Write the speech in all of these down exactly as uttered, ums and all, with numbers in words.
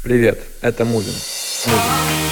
Привет, это Мувин. Мувин.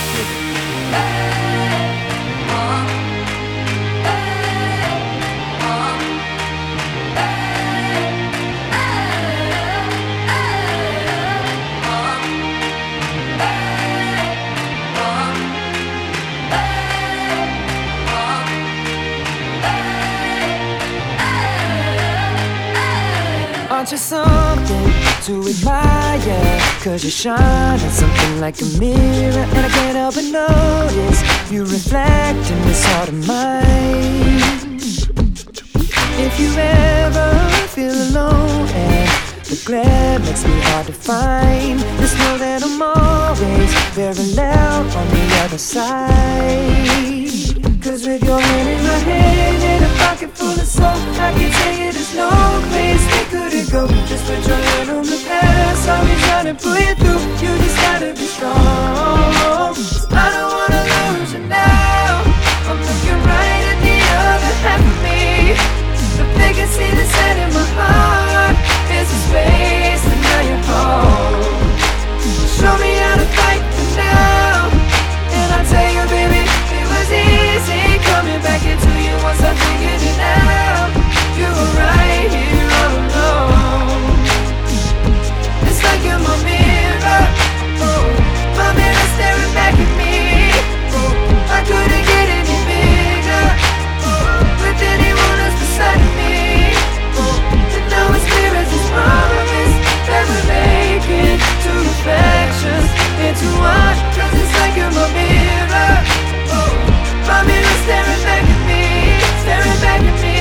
Aren't you something to admire? Cause you shine at something like a mirror, and I can't help but notice you reflect in this heart of mine. If you ever feel alone and the glare makes me hard to find, just know that I'm always very loud on the other side. Cause with your hand in my hand and a pocket full of soul, I can tell you there's no place we couldn't go. Just put your hand on the past, I'll be trying to pull you through. You just gotta be strong. I don't wanna lose you now. I'm looking right at the other half of me. If they can see the sand in my heart, there's a space and now you're home. Show me how to fight for now, and I'll tell you, baby, it was easy coming back into you once I figured it out. You were right here all alone. It's like you're my mirror, oh, my mirror staring back at me. Oh, I couldn't get any bigger, oh, with anyone else beside me. Oh, and now it's clear as this promise that we're making two reflections into one. Cause it's like you're my mirror, oh, my mirror staring back at me, staring back at me.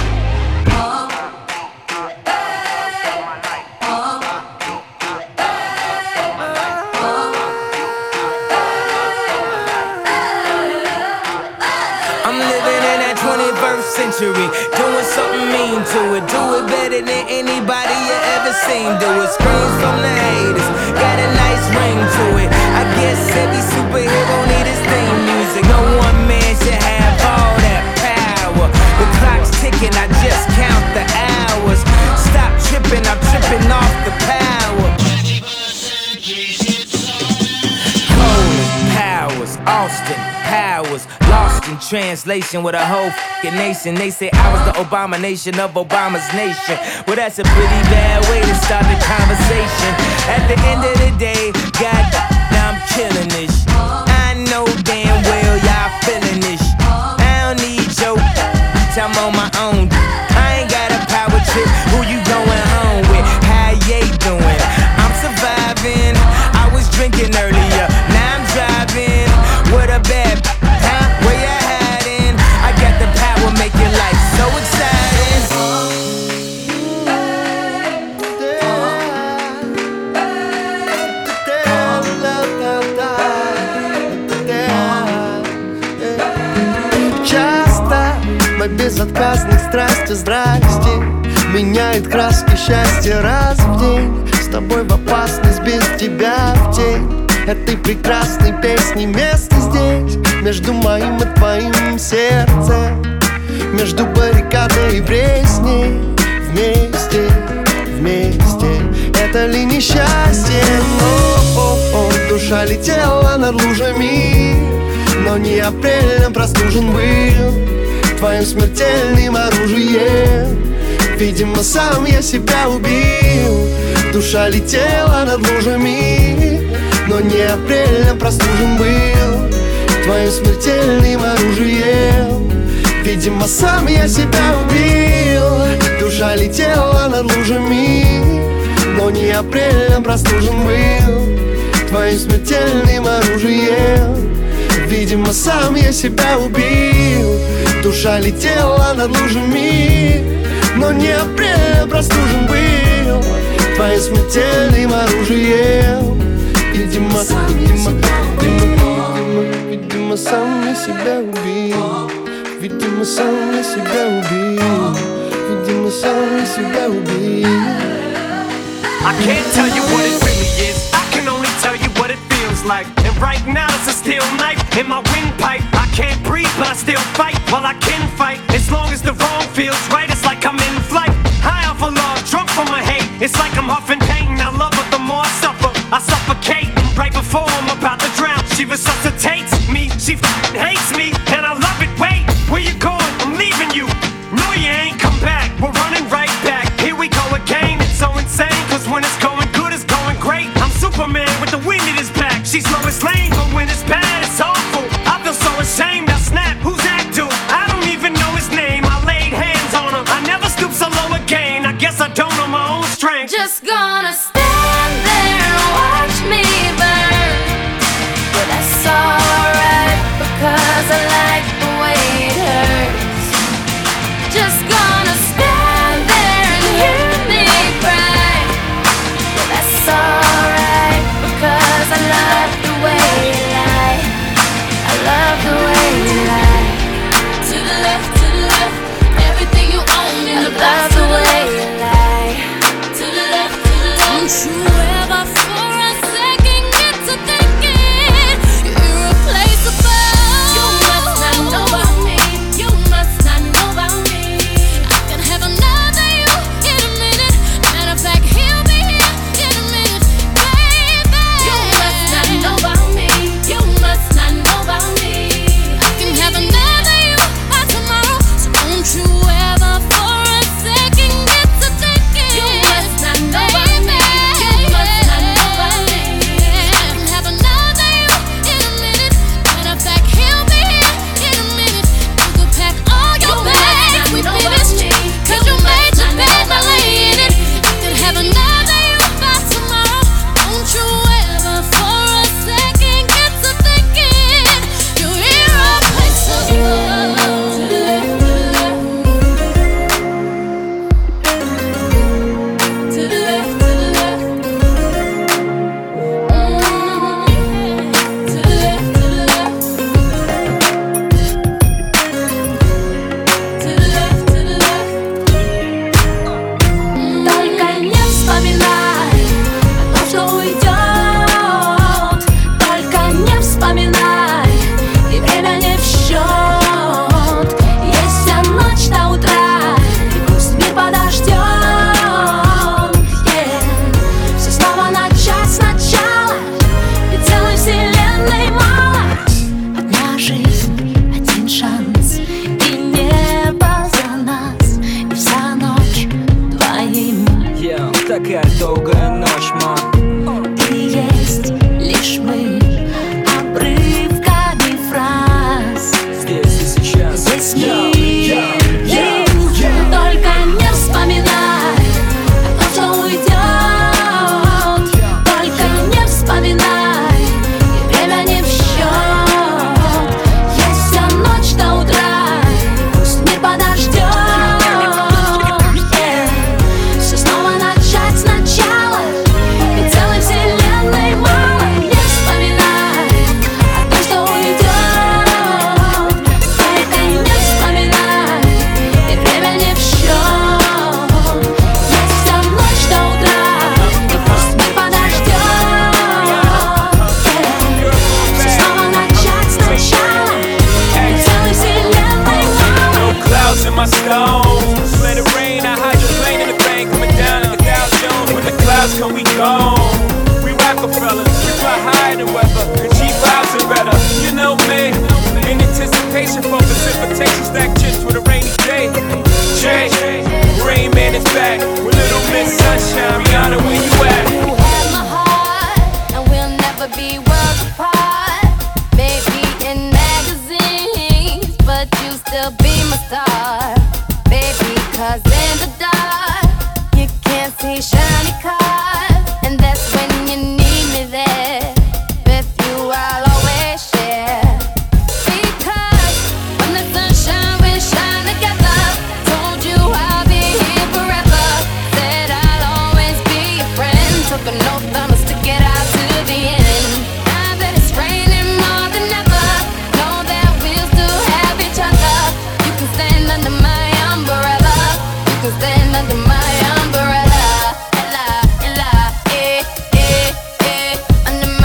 I'm living in that twenty-first century, doing something mean to it. Do it better than anybody you ever seen. Do it, screams from the haters, got a nice ring to it. I guess every superhero need his theme music. No one man should have all that power. The clock's ticking, I just count the hours. Stop tripping, I'm tripping off the power. Coleman, Powers, Austin, Powers, lost in translation with a whole f***ing nation. They say I was the abomination of Obama's nation. Well, that's a pretty bad way to start the conversation. At the end of the day, God, now I'm killing this. I know damn well y'all feeling this. I don't need your I'm on my own. I ain't got a power trip. Who you going home with? How you doing? I'm surviving. I was drinking earlier, now I'm driving. What a bad, huh? Where you hiding? I got the power, making life so exciting. Часто мой безотказный страсти, здрасте меняет краски счастья раз в день. С тобой в опасность, без тебя в тень этой прекрасной песни место здесь. Между моим и твоим сердцем, между баррикадой и пресней. Вместе, вместе, это ли несчастье? О-о-о, душа летела над лужами, но не апрелем простужен был твоим смертельным оружием. Видимо, сам я себя убил. Душа летела над лужами, но не апрелем простужен был твоим смертельным оружием. Видимо, сам я себя убил. Душа летела над лужами, но не апрелем простужен был твоим смертельным оружием. Видимо, сам я себя убил. Душа летела над лужами, но не апрелем простужен был твоим смертельным оружием. Видимо, видимо, видимо, видимо, сам я себя убил. Видимо, сам я себя убил. Видимо, сам я себя убил. I can't tell you what it really is, I can only tell you what it feels like. And right now it's a steel knife in my windpipe. I can't breathe but I still fight, while I can fight. As long as the wrong feels right, it's like I'm in flight. High off of love, drunk from my hate, it's like I'm huffing pain. I love it, the more I suffer, I suffocate. she f***ing hates me, and I love it. Wait, where you going? I'm leaving you. No, you ain't come back. We're running right back. Here we go again. It's so insane, cause when it's going good, it's going great. I'm Superman with the wind in his back. She's Lois Lane, but when it's bad, it's awful. I feel so ashamed. I snap. Who's that dude? I don't even know his name. I laid hands on him. I never stoop so low again. I guess I don't know my own strength. Just gonna stand there and watch me burn. But that's alright, because I like the way it hurts. Just gonna stand there and hear me cry. But that's alright, because I love the way you lie. I love the way you lie. To the left, to the left, everything you own in the box. I love the way you lie. To the left, to the left. Don't you ever for a second get to thinking you're irreplaceable. You must not know about me. You must not know about me. I can have another you in a minute. Matter of fact, he'll be here in a minute, baby. You must not know about me. You must not know about me. I can have another you by tomorrow. So don't you ever for a second get to thinking you must not know about me. You must not know about me. I can have another you in a minute. Matter of fact, he'll be here in a minute. You could pack all your bags, we finished. Cause you made your bed, now lay in it. I could have another you by tomorrow. Don't you ever for a second get to thinking you're irreplaceable. To the left, to the left. To the left, to the left. Mm. To the left, to the left. To the left, to the left. Только не вспоминай о том, что уйдет. Только не вспоминай, и время не в счет. Есть вся ночь до утра, и пусть мир подождет. Yeah. Все снова начать сначала, ведь целой вселенной мало. Одна жизнь, один шанс, и небо за нас, и вся ночь двоим. Yeah, такая долгая ночь, мам. И есть лишь мы обрывками фраз. Здесь и сейчас. Здесь Yeah, yeah, yeah, мир, yeah. только не вспоминай о том, что уйдет. Только не вспоминай, и время не в счет. Есть вся ночь до утра, и пусть мир подождет. Yeah. Все снова начать сначала, ведь целой вселенной мало. Не вспоминай о том, что уйдет. Только не вспоминай, и время не в счет. Есть вся ночь до утра, и пусть мир подождет. Yeah. Все снова начать сначала, ведь целой вселенной мало. No clouds in my stones. Let it rain, I hydroplane in the bank, coming down in the Dow Jones. When the clouds come, we gone. We Rockefellers, we fly higher than weather. The G fives are better, you know me. In anticipation for precipitation, stack chips for the rainy day. Jay, Rain Man is back with Little Miss Sunshine. Rihanna, where you at? You have my heart, and we'll never be worlds apart. Maybe in magazines, but you still be my star. Baby, cause in the dark, you can't see shiny cars. And that's when you need me there. With you I'll always share. Because when the sunshine we shine together. Told you I'll be here forever. Said I'll always be your friend. Took an oath, I'ma stick it out to the end. Now that it's raining more than ever, know that we'll still have each other. You can stand under my umbrella. You can stand under my umbrella. Ella, Ella, eh, eh, eh. Under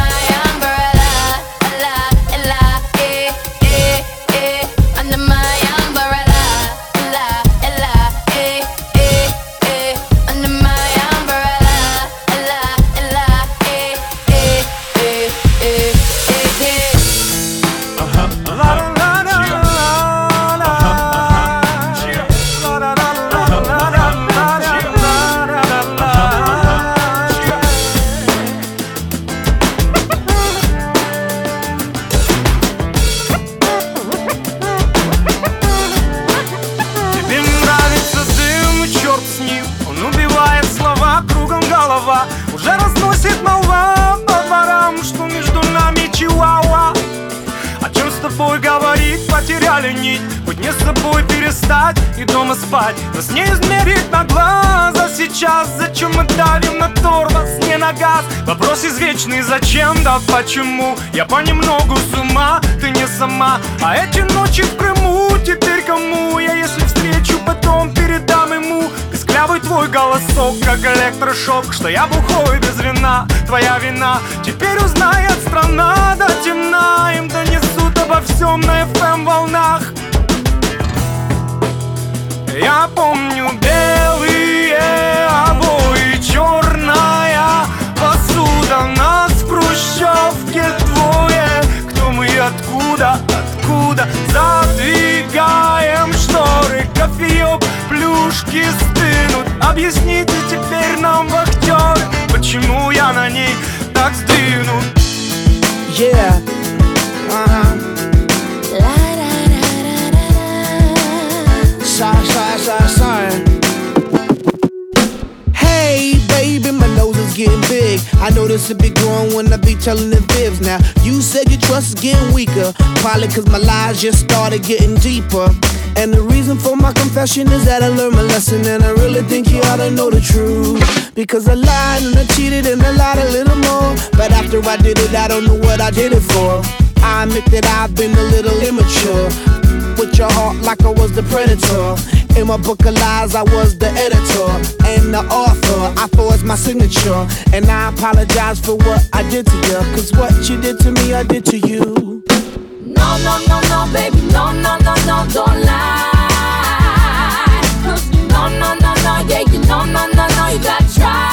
собой говорить, потеряли нить. Быть не с собой перестать и дома спать. Нас не измерить на глаза сейчас. Зачем мы давим на тормоз, не на газ? Вопрос извечный, зачем, да почему? Я понемногу с ума, ты не сама. А эти ночи в Крыму теперь кому? Я если встречу, потом передам ему писклявый твой голосок, как электрошок. Что я бухой без вина, твоя вина. Теперь узнает страна до темна. Им донесут обо всем на эф эм волнах. Я помню белые обои, черная посуда. Нас в хрущевке двое. Кто мы и откуда, откуда? Задвигаем шторы, кофеек, плюшки стынут. Объясните теперь нам, вахтеры, почему я на ней так сдвинут. Yeah, uh-huh. Sorry, sorry, sorry, sorry. Hey, baby, my nose is getting big. I know this will be growing when I be telling the fibs. Now, you said your trust is getting weaker. Probably cause my lies just started getting deeper. And the reason for my confession is that I learned my lesson. And I really think you ought to know the truth. Because I lied and I cheated and I lied a little more. But after I did it, I don't know what I did it for. I admit that I've been a little immature. With your heart like I was the predator. In my book of lies, I was the editor and the author. I forged my signature. And I apologize for what I did to you. Cause what you did to me, I did to you. No, no, no, no, baby, no, no, no, no, don't lie. No, no, no, no, yeah, you know, no, no, no, you gotta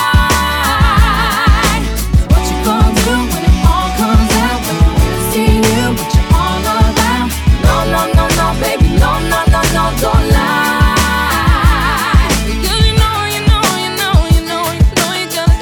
try. What you gonna do when it all comes out? When you really see you, what you all about? No, no, no, no, baby, no, no, no, no, don't lie. Because you know, you know, you know, you know, you know you're gonna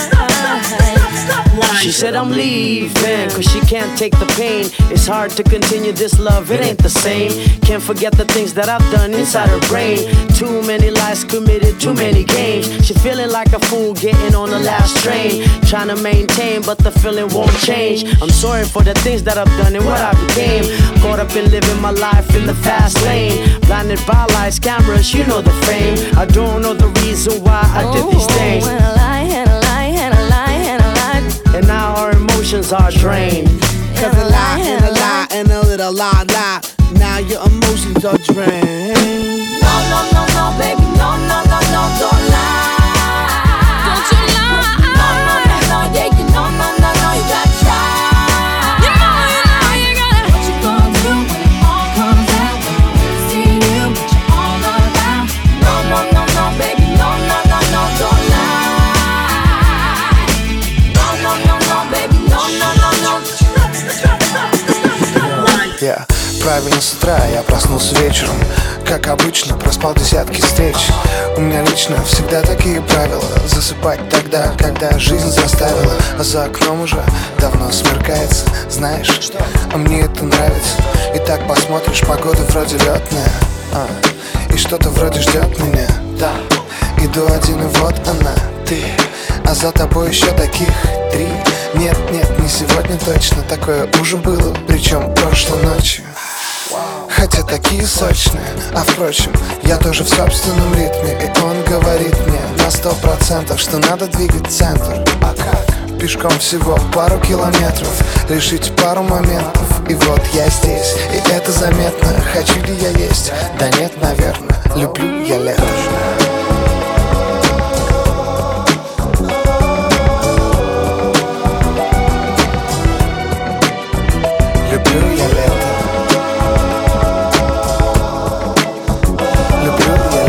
cry. She said I'm leaving cause she can't take the pain. It's hard to continue this love, it ain't the same. Can't forget the things that I've done inside her brain. Too many lies committed, too many games. She feeling like a fool getting on the last train. Trying to maintain but the feeling won't change. I'm sorry for the things that I've done and what I became. Caught up in living my life in the fast lane. Blinded by lights, cameras, you know the fame. I don't know the reason why I did these things. And a lie, and a lie, and a lie, and a lie. And now our emotions are drained. Cause a lie and a lie and a little lie, lie. Now your emotions are drained. No, no, no, no, baby, no, no, no, no, don't lie. Don't you lie. No, no, no, no, yeah, you know, no, no, no, you gotta try. You know, you know, you gotta. What you gonna do when it all comes out? When you really see you, what you all about? No, no, no, no, baby, no, no, no, no, don't lie. No, no, no, no, baby, no, no, no, no. Я правильно с утра, я проснулся вечером. Как обычно, проспал десятки встреч. У меня лично всегда такие правила. Засыпать тогда, когда жизнь заставила. А за окном уже давно смеркается. Знаешь, а мне это нравится. И так посмотришь, погода вроде летная, а, и что-то вроде ждет меня. Да, иду один и вот она, ты. А за тобой еще таких три. Нет, нет, не сегодня точно. Такое уже было, причем прошлой ночью. Хотя такие сочные. А впрочем, я тоже в собственном ритме. И он говорит мне на сто процентов, что надо двигать центр. А как? Пешком всего пару километров, решить пару моментов. И вот я здесь, и это заметно. Хочу ли я есть? Да нет, наверное. Люблю я лето. Люблю я лето. Люблю я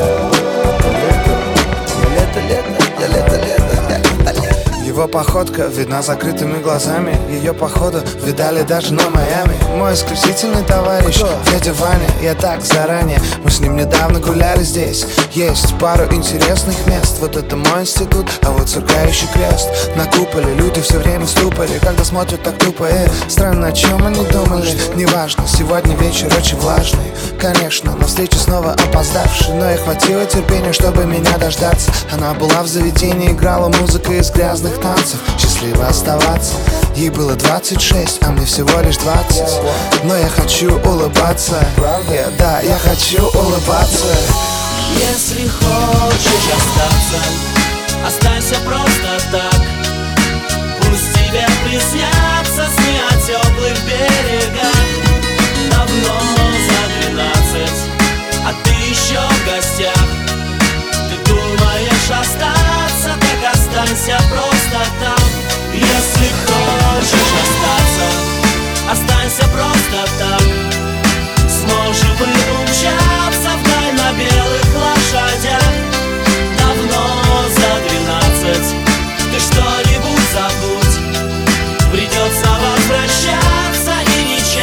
лето. Лето, лето, лето, лето, лето, лето. Его походка видна закрытыми глазами. Ее походу видали даже на Майами. Мой исключительный товарищ дядя Ваня. Я так заранее, мы с ним недавно гуляли здесь. Есть пару интересных мест. Вот это мой институт, а вот сверкающий крест. На куполе люди все время в ступоре, когда смотрят так тупо. э, Странно, о чем они думали. Неважно, сегодня вечер очень влажный. Конечно, на встречу снова опоздавший. Но ей хватило терпения, чтобы меня дождаться. Она была в заведении, играла музыка из грязных танцев. шансов счастливо оставаться. Ей было двадцать шесть, а мне всего лишь двадцать. Но я хочу улыбаться. Yeah, да, я хочу улыбаться. Если хочешь остаться, останься просто так. Пусть тебе приснятся сны о теплых берегах. Давно за двенадцать, а ты еще в гостях. Ты думаешь остаться, так останься просто там. Если хочешь остаться, останься просто так. Сможем мы умчаться вдаль на белых лошадях. Давно за двенадцать, ты что-нибудь забудь. Придется возвращаться и ничем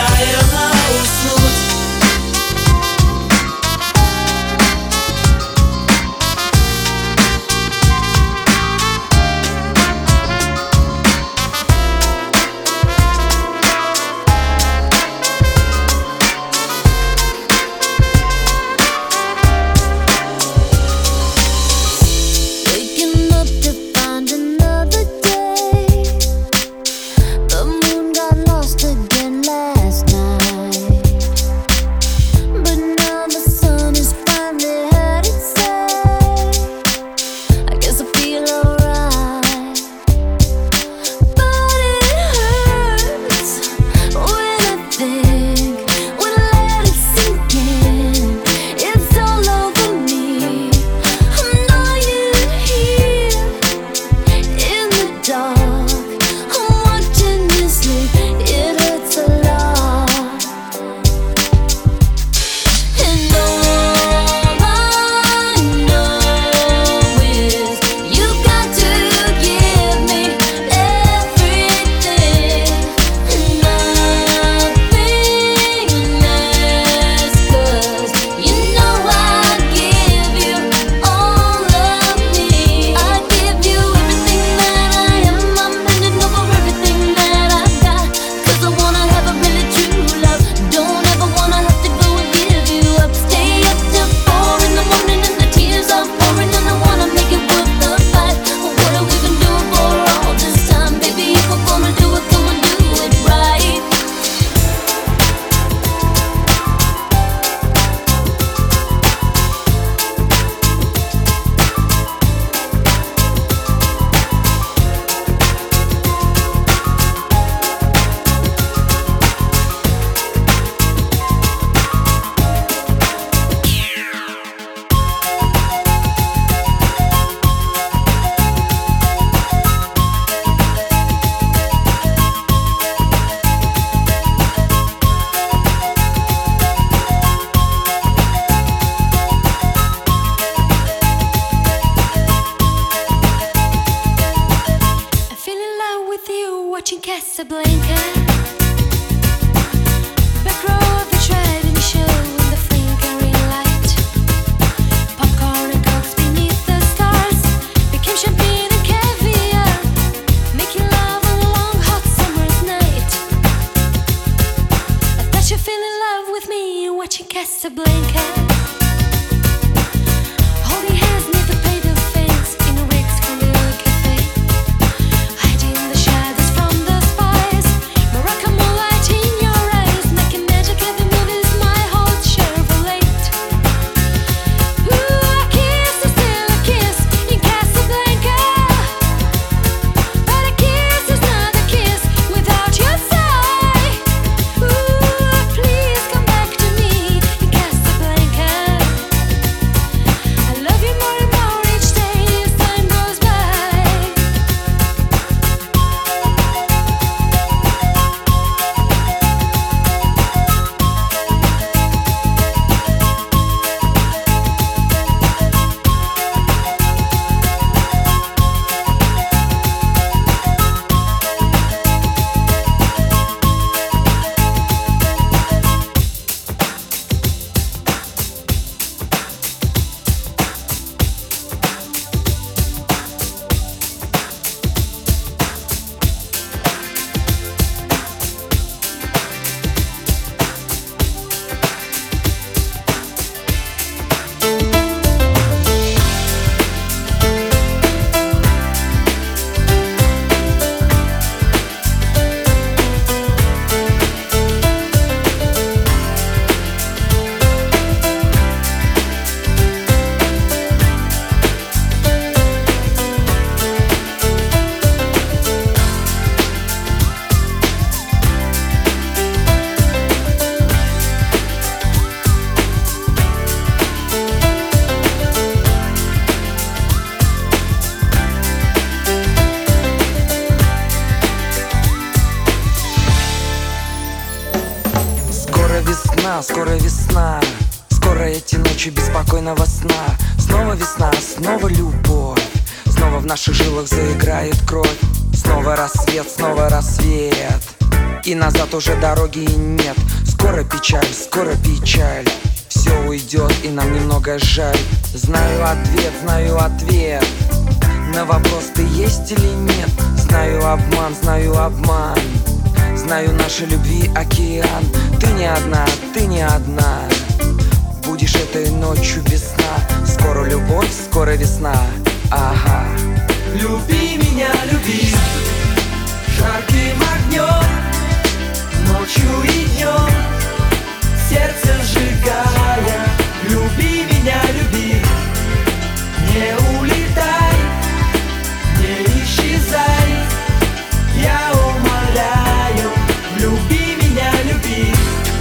скоро весна. Скоро эти ночи беспокойного сна. Снова весна, снова любовь. Снова в наших жилах заиграет кровь. Снова рассвет, снова рассвет. И назад уже дороги нет. Скоро печаль, скоро печаль. Все уйдет и нам немного жаль. Знаю ответ, знаю ответ на вопрос, ты есть или нет. Знаю обман, знаю обман. Знаю нашей любви океан. Ты не одна, ты не одна. Будешь этой ночью без сна. Скоро любовь, скоро весна. Ага. Люби меня, люби жарким огнем, ночью и днем, сердце сжигая. Люби меня, люби, не улетай, не исчезай. Я умоляю, люби меня, люби.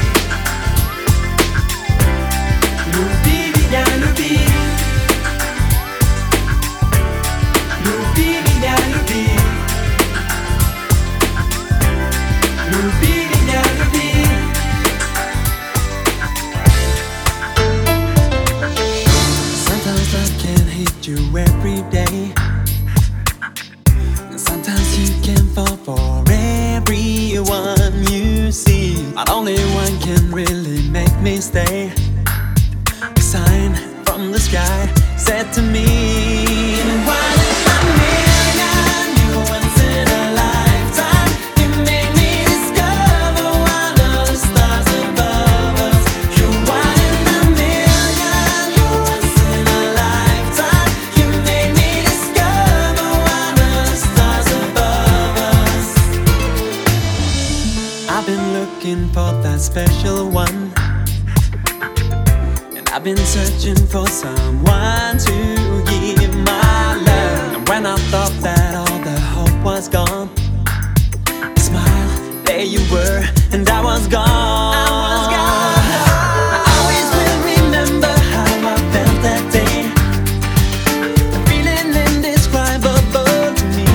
Люби меня, люби. Люби меня, люби. Люби меня, люби. Sometimes love can hit you every day. And sometimes you can fall for everyone you see. But only one can really make me stay. A sign from the sky said to me, one in a million, you once in a lifetime. You made me discover one of the stars above us. You one in a million, you once in a lifetime. You made me discover one of the stars above us. I've been looking for that special one. I've been searching for someone to give my love. And when I thought that all the hope was gone, smile, there you were, and I was gone. I was gone. I always will remember how I felt that day. The feeling indescribable to me.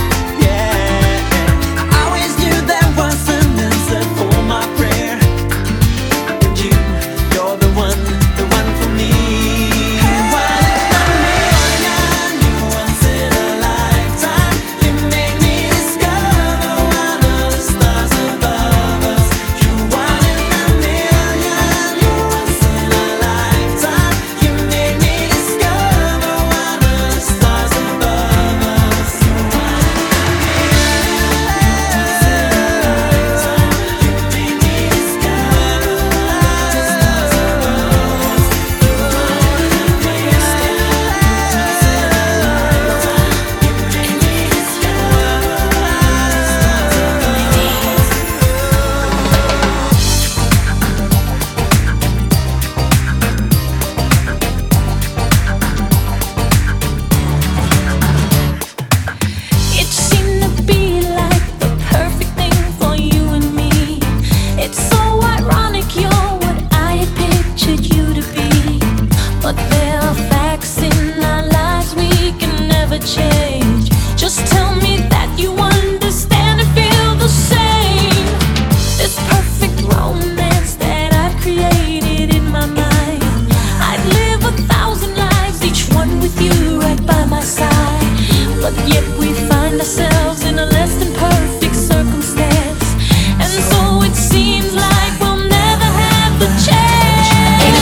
Yeah, I always knew there was an answer for my prayer. And you, you're the one.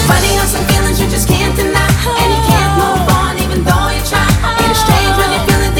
Feeling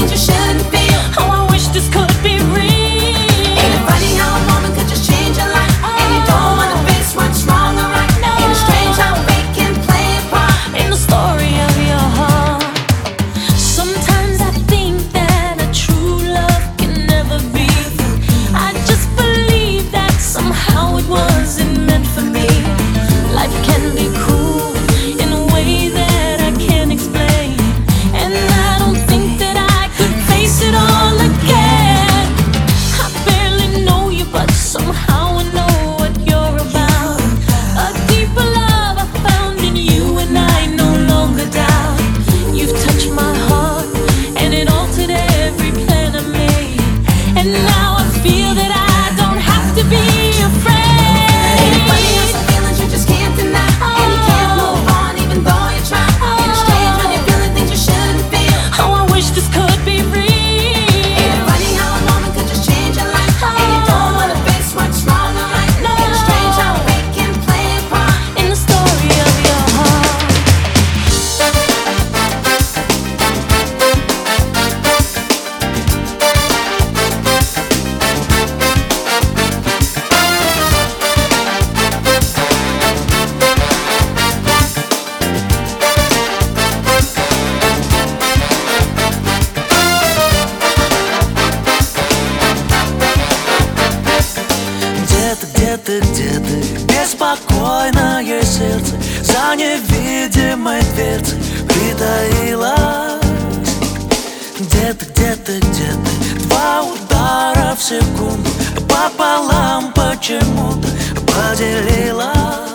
невидимой дверцы притаилась. Где-то, где-то, где-то два удара в секунду пополам почему-то поделилась.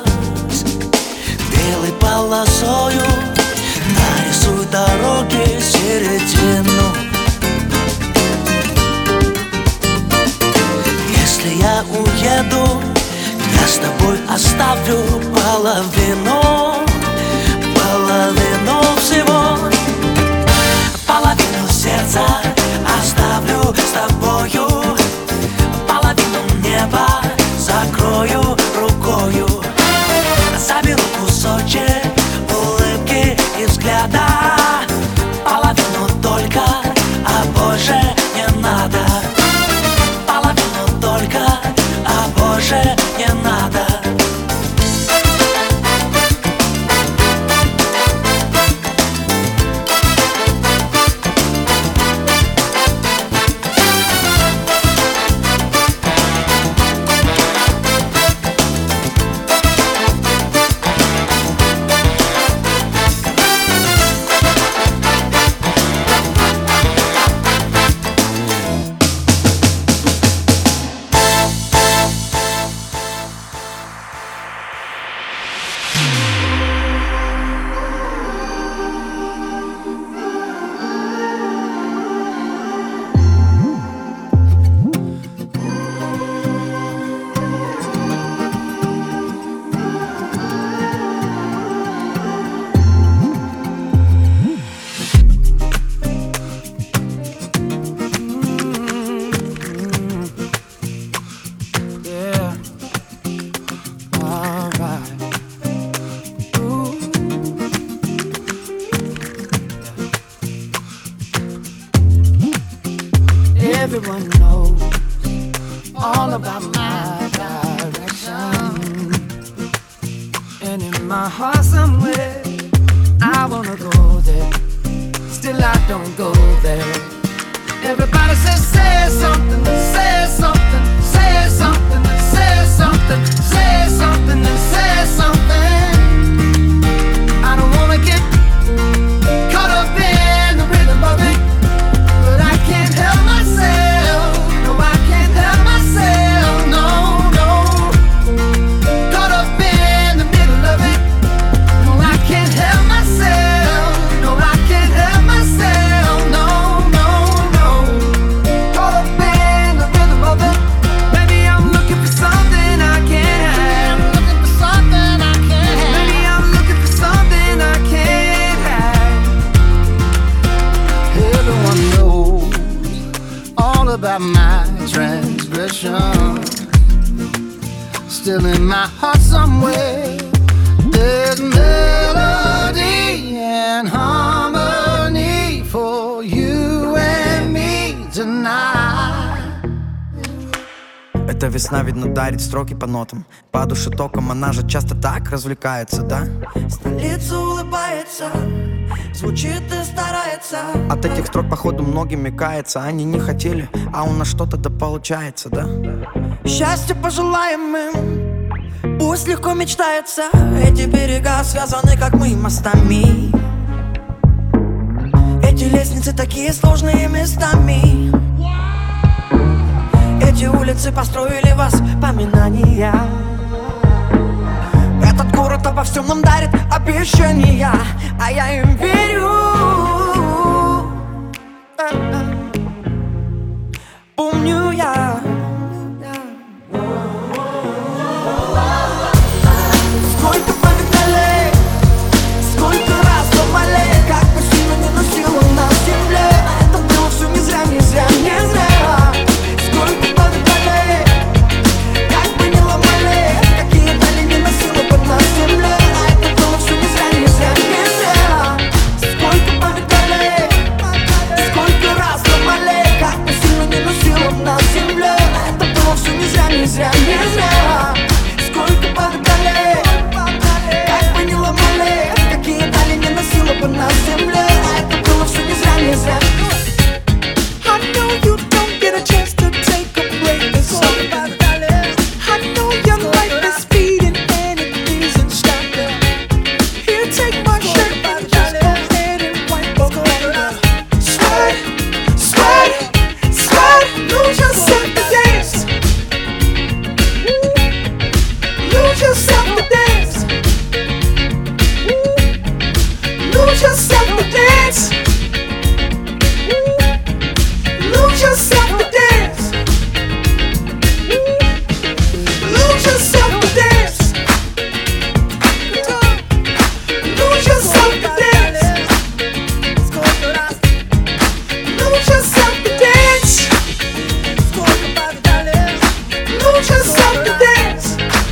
Белой полосою нарисуй дороги середину. Если я уеду, я с тобой оставлю половину, половину всего. Половину сердца оставлю с тобою, половину неба закрою рукою. Заберу кусочек улыбки и взгляда, половину только, а больше не надо. Половину только, а больше не надо. Everyone knows all about my direction, and in my heart somewhere I wanna go there, still I don't go there. Everybody says say something, say something, say something, say something, say something, say something. I don't wanna get caught up in the rhythm of it, but I can't help myself. No, I can't help myself. No, no. Caught up in the middle of it. No, I can't help myself. No, I can't help myself. No, no, no. Caught up in the rhythm of it. Maybe I'm looking for something I can't have. I'm looking for something I can't have. Maybe I'm looking for something I can't have. Everyone knows all about my transgression. Still in my heart somewhere there's melody and harmony for you and me tonight. Эта весна, видно, дарит строки по нотам. По душе током, она же часто так развлекается, да? Столица улыбается, звучит и старается. От этих строк, походу, многими кается. Они не хотели, а у нас что-то да получается, да? Счастья пожелаем им, пусть легко мечтается. Эти берега связаны, как мы, мостами. Эти лестницы такие сложные местами. Эти улицы построили воспоминания. Этот город обо всем нам дарит обещания, а я им верю. Помню я. Сколько погнали, сколько раз думали, как бы сильно не носило на земле. Это было все не зря, не зря, не зря. Сколько погнали, как бы не ломали, какие дали не носило бы на земле. Это было все не зря, не зря, не зря. dance. Lose yourself to dance. Lose yourself to dance. Lose yourself to dance. Lose yourself to dance. Lose yourself to dance.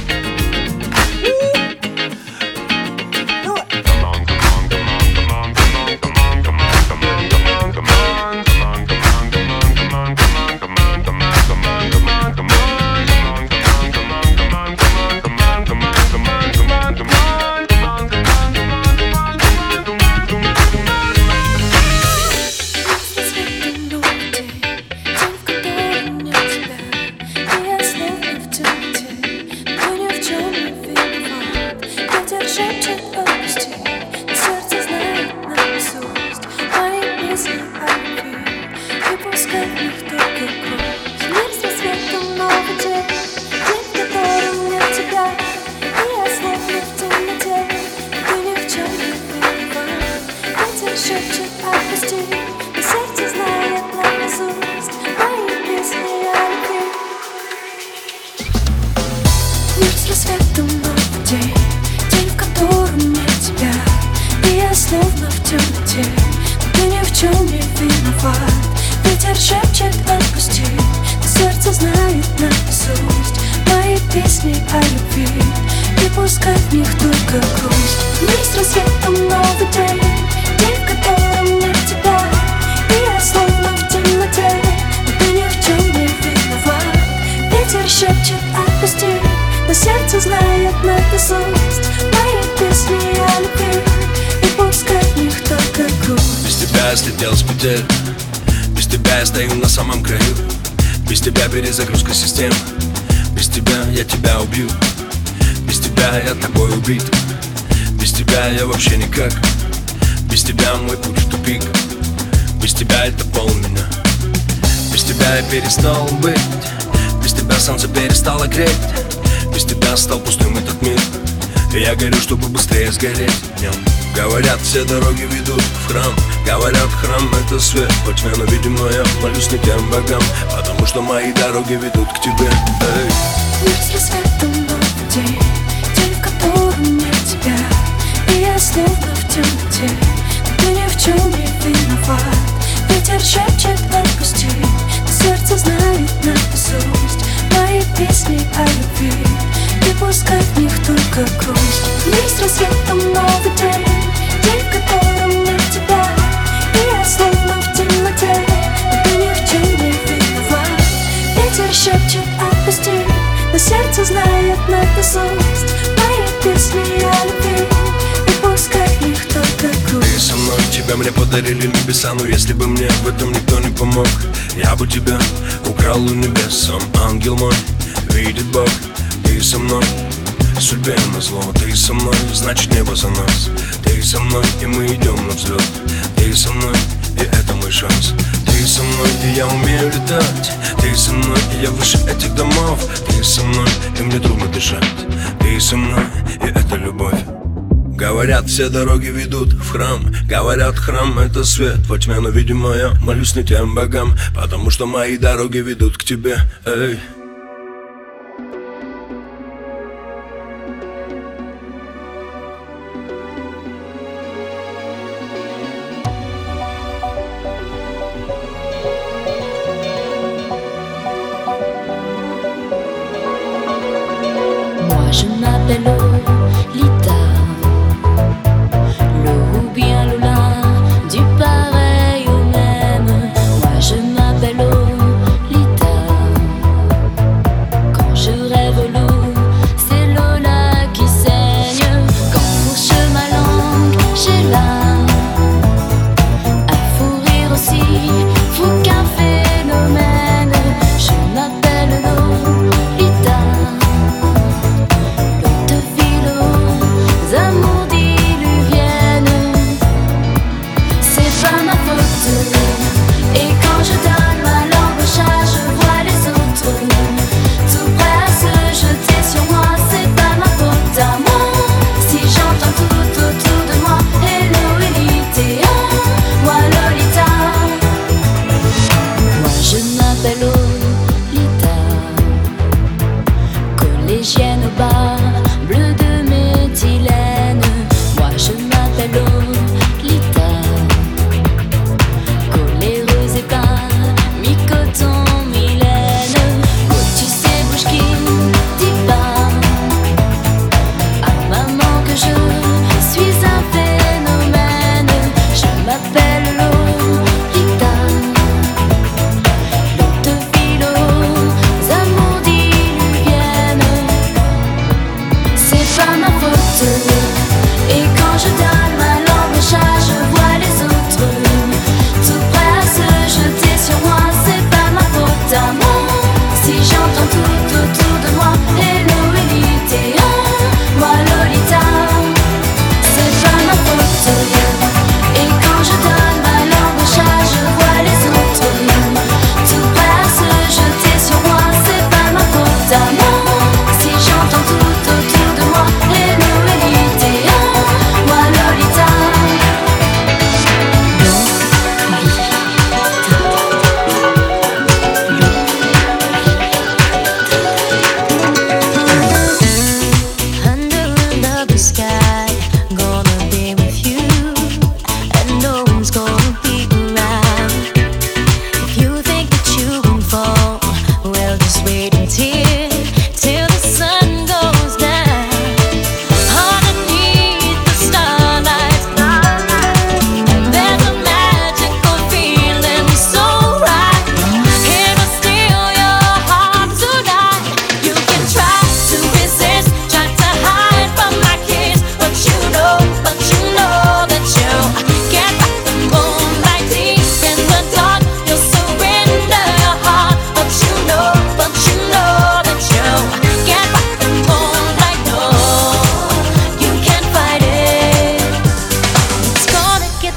Слетел с петель. Без тебя я стою на самом краю. Без тебя перезагрузка систем. Без тебя я тебя убью. Без тебя я тобой убит. Без тебя я вообще никак. Без тебя мой путь в тупик. Без тебя это пол меня. Без тебя я перестал быть. Без тебя солнце перестало греть. Без тебя стал пустым этот мир. И я горю, чтобы быстрее сгореть в нем. Говорят, все дороги ведут в храм. Говорят, храм это свет. Во тьме, но видимо я молюсь не тем богам, потому что мои дороги ведут к тебе. Эй. Мир с рассветом новый день, день, в котором нет тебя. И я словно в темноте, но ты ни в чем не виноват. Ветер шепчет отпусти, но сердце знает наизусть мои песни о любви. И пускай в них только грусть. Мир с рассветом новый день, день, в котором нет тебя. И я словно в темноте, но ты ни в чем не виноват. Ветер шепчет отпусти, но сердце знает наизусть мои песни о любви. И пускай в них только грусть. Ты со мной, тебя мне подарили небеса. Но если бы мне в этом никто не помог, я бы тебя украл у небес. Сам ангел мой, видит Бог. Ты со мной, судьбе назло. Ты со мной, значит небо за нас. Ты со мной, и мы идем на взлет. Ты со мной, и это мой шанс. Ты со мной, и я умею летать. Ты со мной, и я выше этих домов. Ты со мной, и мне трудно дышать. Ты со мной, и это любовь. Говорят, все дороги ведут в храм. Говорят, храм это свет во тьме, но видимо я молюсь не тем богам, потому что мои дороги ведут к тебе. Эй. Je m'appelle Lolita, le ou bien Lola, du pareil au même. Moi je m'appelle Lolita,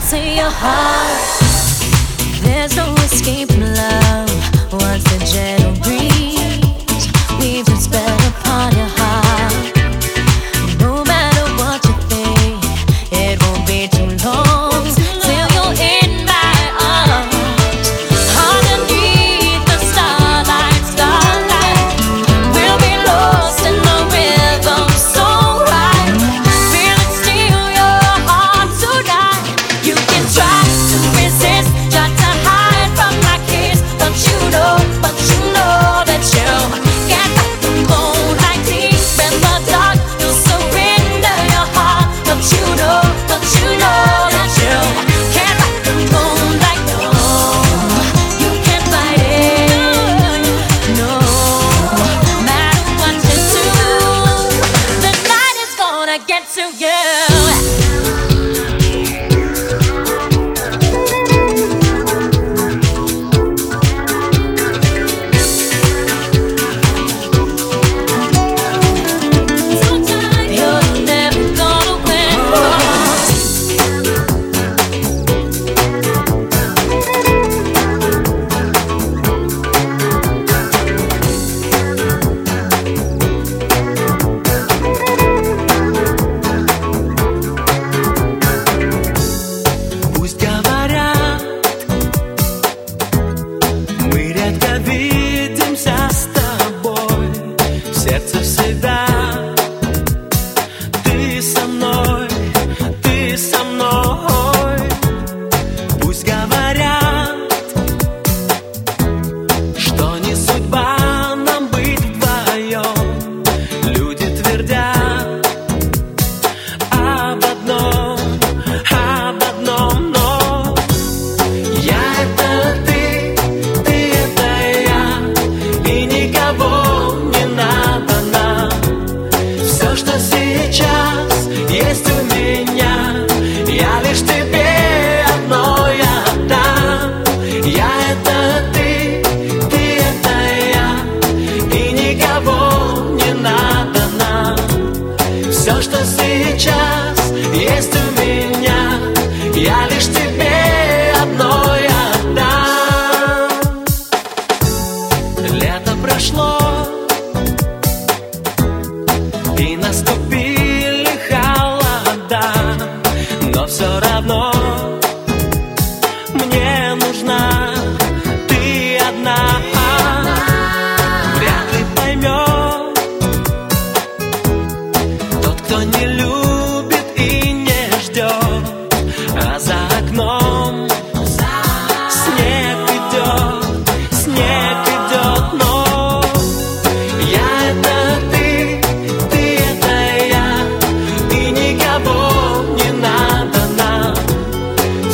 to your heart. There's no escaping love once the gentle breeze weaves its spell upon your heart. No matter what you think, it won't be too long till you're in my arms. Underneath the starlight, starlight, we'll be lost in the rhythm so right. Feel it steal your heart tonight. You can try to resist, try to hide from my kiss, but you know, but you know that you can't fight the moonlight deep in the dark. You'll surrender your heart, but you know, but you know that you can't fight the moonlight. No, you can't fight it. No, matter what you do, the night is gonna get to you. You're never gonna win. Пусть говорят, мы редко видимся с тобой. В сердце всегда ты со мной, ты со мной. Пусть говорят, что не судьба нам быть вдвоем. Люди твердят об одном, об одном, но я это ты, ты это я, и никого не надо нам. Все, что сейчас есть у меня, я лишь тебе одной отдам. Я это ты, ты это я, и никого не надо нам. Все, что сейчас есть у меня, я лишь тебе одной отдам. Лето прошло, и наступили холода, но все равно мне нужна ты одна. Вряд ли поймет тот, кто не любит и не ждет, а за окном снег идет, снег идет, но я это ты, ты это я, и никого не надо нам.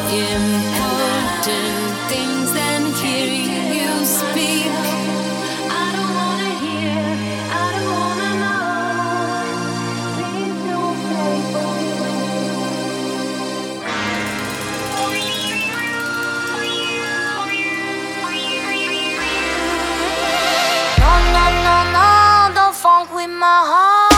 important things than hearing you speak. I don't wanna hear, I don't wanna know. Please don't say for No, no, no, no, don't funk with my heart.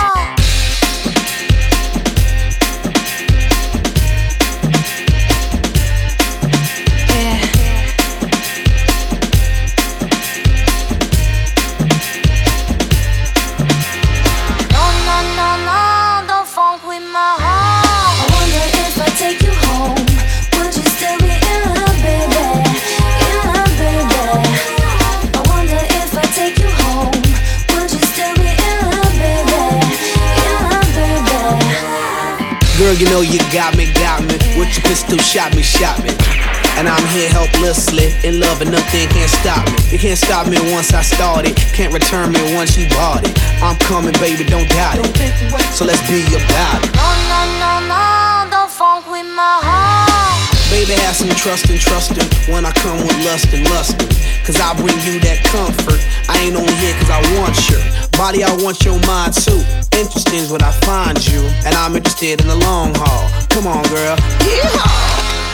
Girl, you know you got me, got me. With your pistol, shot me, shot me. And I'm here helplessly, in love and nothing can't stop me. You can't stop me once I started, can't return me once you bought it. I'm coming, baby, don't doubt it. So let's be about it. No, no, no, no, don't funk with my heart. Baby, have some trust and trustin' when I come with lust and lustin'. Cause I bring you that comfort. I ain't only here cause I want your body, I want your mind too. Interesting is what I find you, and I'm interested in the long haul. Come on, girl. Yeehaw!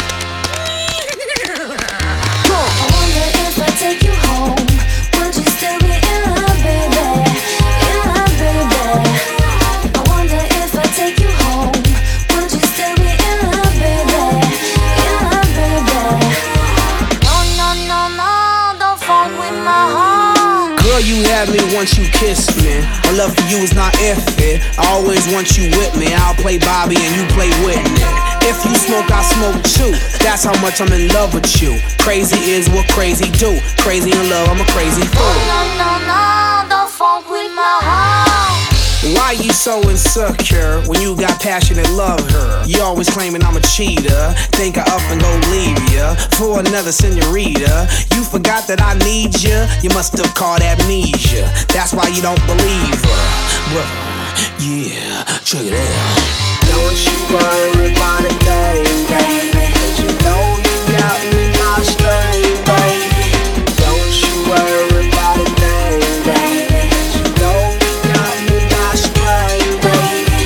I wonder if I take you home, would you still be in love, baby? In love, baby. I wonder if I take you home, would you still be in love, baby? In love, baby. No, no, no, no, don't funk with my heart. Girl, you had me once you kissed me. My love for you is not if it. I always want you with me. I'll play Bobby and you play Whitney. If you smoke, I smoke too. That's how much I'm in love with you. Crazy is what crazy do. Crazy in love, I'm a crazy fool. No, no, no, don't funk with my heart. Why you so insecure when you got passion and love her? You always claiming I'm a cheater. Think I up and go leave ya for another senorita. You forgot that I need ya. You must have caught amnesia. That's why you don't believe her. Well, yeah, check it out. Don't you worry about a thing, baby. Cause you know you got me my string, baby. Don't you worry about a thing, baby. Cause you know you got me my string, baby.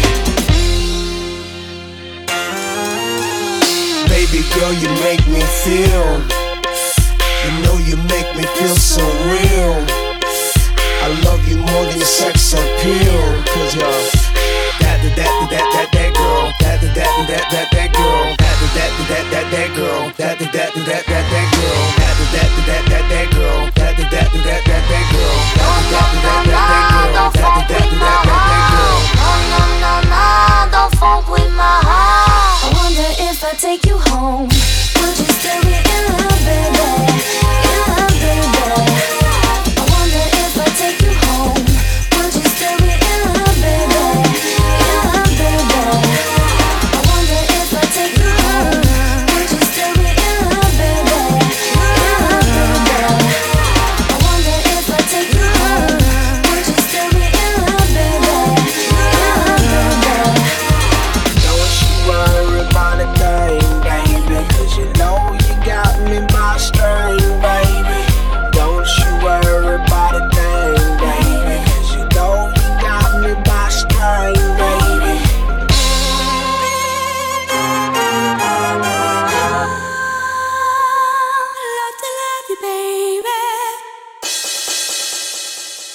Baby girl, you make me feel. You know you make me feel so real. I love you more than sex appeal. Cause you're that, that, that, that, that, that girl. That, that, that, that, that, that girl. That, that, that, that, that, that girl. That, that,